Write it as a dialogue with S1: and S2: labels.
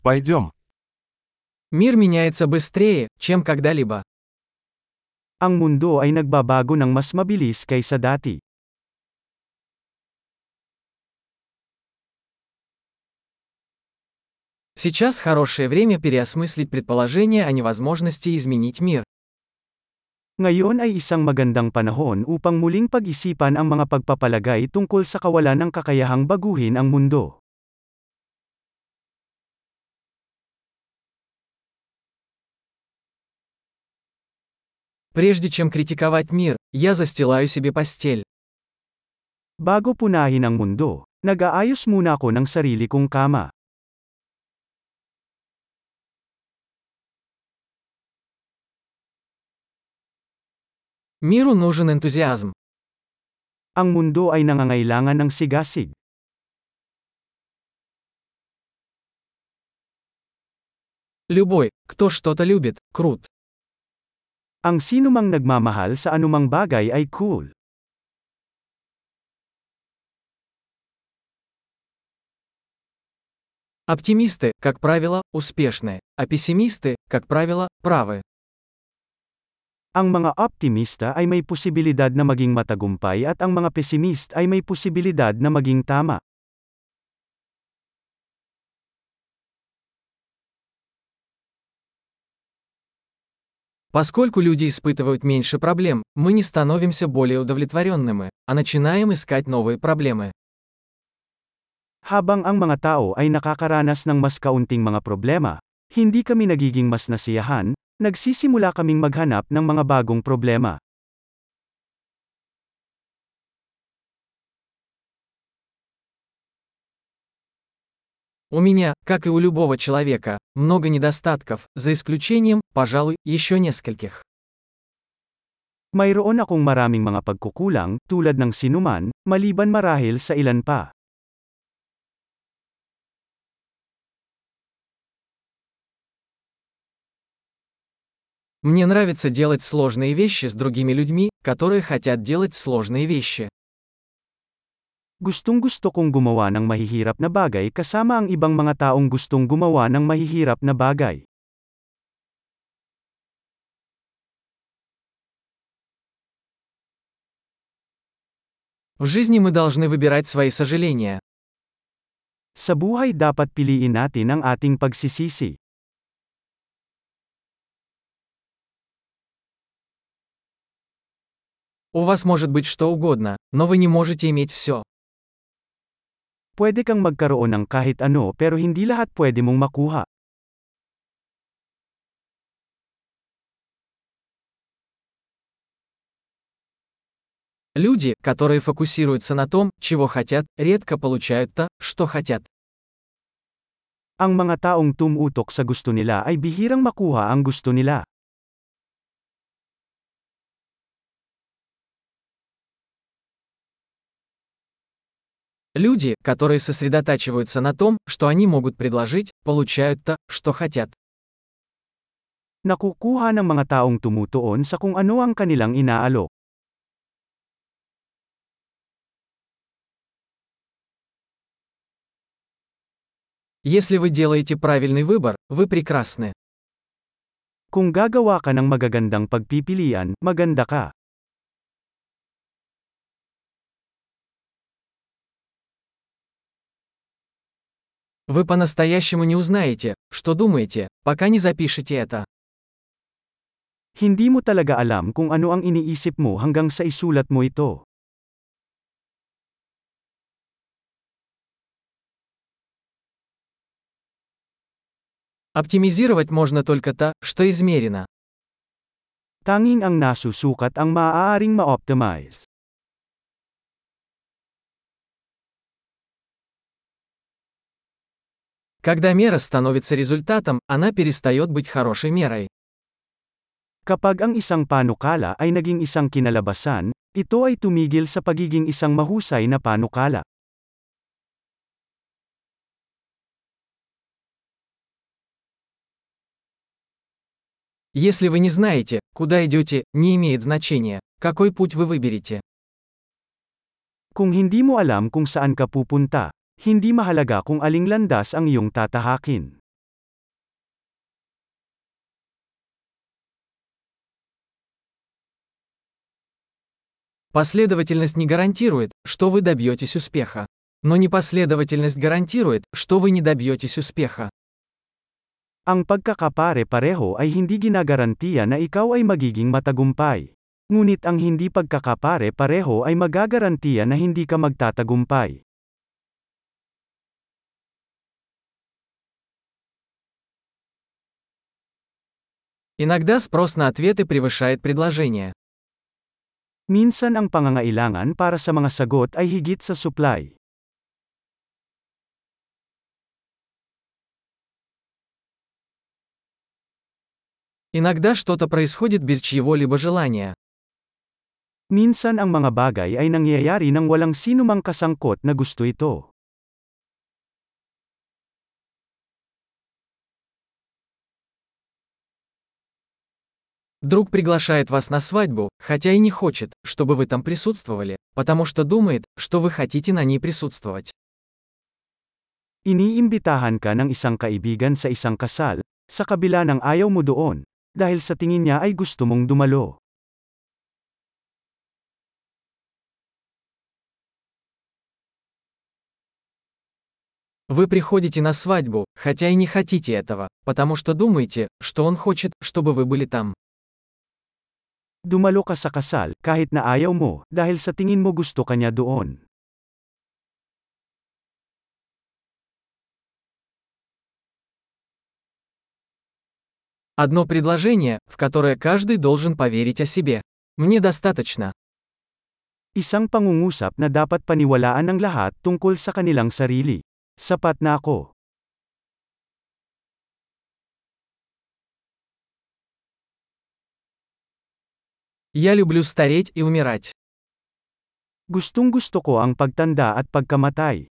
S1: Пойдем.
S2: Мир меняется быстрее, чем когда-либо.
S3: Ang mundo ay nagbabago ng mas mabilis kaysa dati.
S2: Сейчас хорошее время переосмыслить предположение о невозможности изменить мир.
S3: Ngayon ay isang magandang panahon upang muling pag-isipan ang mga pagpapalagay tungkol sa kawalan ng kakayahang baguhin ang mundo.
S2: Прежде чем критиковать мир, я застилаю себе постель.
S3: Bago punahin ang mundo, nag-aayos muna ako ng sarili kong kama.
S2: Миру нужен энтузиазм.
S3: Ang mundo ay nangangailangan ng sigasig.
S2: Любой, кто что-то любит, крут.
S3: Ang sinumang nagmamahal sa anumang bagay ay cool.
S2: Оптимисты, как правило, успешны, а пессимисты, как правило, правы.
S3: Ang mga optimista ay may posibilidad na maging matagumpay at ang mga pessimist ay may posibilidad na maging tama.
S2: Поскольку люди испытывают меньше проблем, мы не становимся более удовлетворенными, а начинаем искать новые проблемы.
S3: Habang ang mga tao ay nakakaranas ng mas kaunting mga problema, hindi kami nagiging mas nasiyahan, nagsisimula kaming maghanap ng mga bagong problema.
S2: У меня, как и у любого человека, много недостатков, за исключением, пожалуй, еще нескольких.
S3: Mayroon akong maraming mga pagkukulang, tulad ng sinuman, maliban marahil sa ilan pa.
S2: Мне нравится делать сложные вещи с другими людьми, которые хотят делать сложные вещи.
S3: Gustong-gusto kong gumawa ng mahihirap na bagay kasama ang ibang mga taong gustong gumawa ng mahihirap na bagay.
S2: В жизни мы должны выбирать свои сожаления.
S3: Sa buhay dapat piliin natin ang ating pagsisisi.
S2: У вас может быть что угодно, но вы не можете иметь все.
S3: Pwede kang magkaroon ng kahit ano pero hindi lahat pwede mong makuha.
S2: Люди, которые фокусируются на том, чего хотят, редко получают то, что хотят.
S3: Ang mga taong tumutok sa gusto nila ay bihirang makuha ang gusto nila.
S2: Люди, которые сосредотачиваются на том, что они могут предложить, получают то, что хотят.
S3: Nakukuha ng mga taong tumutuon sa kung ano ang kanilang inaalok.
S2: Если вы делаете правильный выбор, вы прекрасны.
S3: Kung gagawa ka ng magagandang pagpipilian, maganda ka.
S2: Вы по-настоящему не узнаете, что думаете, пока не запишете это.
S3: Hindi mo talaga alam kung ano ang iniisip mo hanggang sa isulat mo ito.
S2: Оптимизировать можно только то, что измерено.
S3: Tanging ang nasusukat ang maaaring ma-optimize.
S2: Когда мера становится результатом, она перестает быть хорошей мерой.
S3: Kapag ang isang panukala ay naging isang kinalabasan, ito ay tumigil sa pagiging isang mahusay na panukala.
S2: Если вы не знаете, куда идете, не имеет значения, какой путь вы выберете.
S3: Kung hindi mo alam kung saan ka pupunta, hindi mahalaga kung aling landas ang iyong tatahakin.
S2: Последовательность не гарантирует, что вы добьетесь успеха. Но непоследовательность гарантирует, что вы не добьетесь успеха.
S3: Ang pagkakapare-pareho ay hindi ginagarantiya na ikaw ay magiging matagumpay. Ngunit ang hindi pagkakapare-pareho ay magagarantiya na hindi ka magtatagumpay.
S2: Иногда спрос на ответы превышает предложение.
S3: Minsan ang pangangailangan para sa mga sagot ay higit sa supply.
S2: Иногда что-то происходит без чьего-либо желания.
S3: Minsan ang mga bagay ay nangyayari nang walang sinumang kasangkot na gusto ito.
S2: Друг приглашает вас на свадьбу, хотя и не хочет, чтобы вы там присутствовали, потому что думает, что вы хотите на ней присутствовать.
S3: Iniimbitahan ka ng isang kaibigan sa isang kasal, sa kabila ng ayaw mo doon, dahil sa tingin niya ay gusto mong dumalo.
S2: Вы приходите на свадьбу, хотя и не хотите этого, потому что думаете, что он хочет, чтобы вы были там.
S3: Dumalo ka sa kasal, kahit na ayaw mo, dahil sa tingin mo gusto ka niya doon.
S2: Одно предложение, в которое каждый должен поверить о себе. Мне достаточно.
S3: Isang pangungusap na dapat paniwalaan ng lahat tungkol sa kanilang sarili. Sapat na ako.
S2: Я люблю стареть и умирать.
S3: Gustong-gusto ko ang pagtanda at pagkamatay.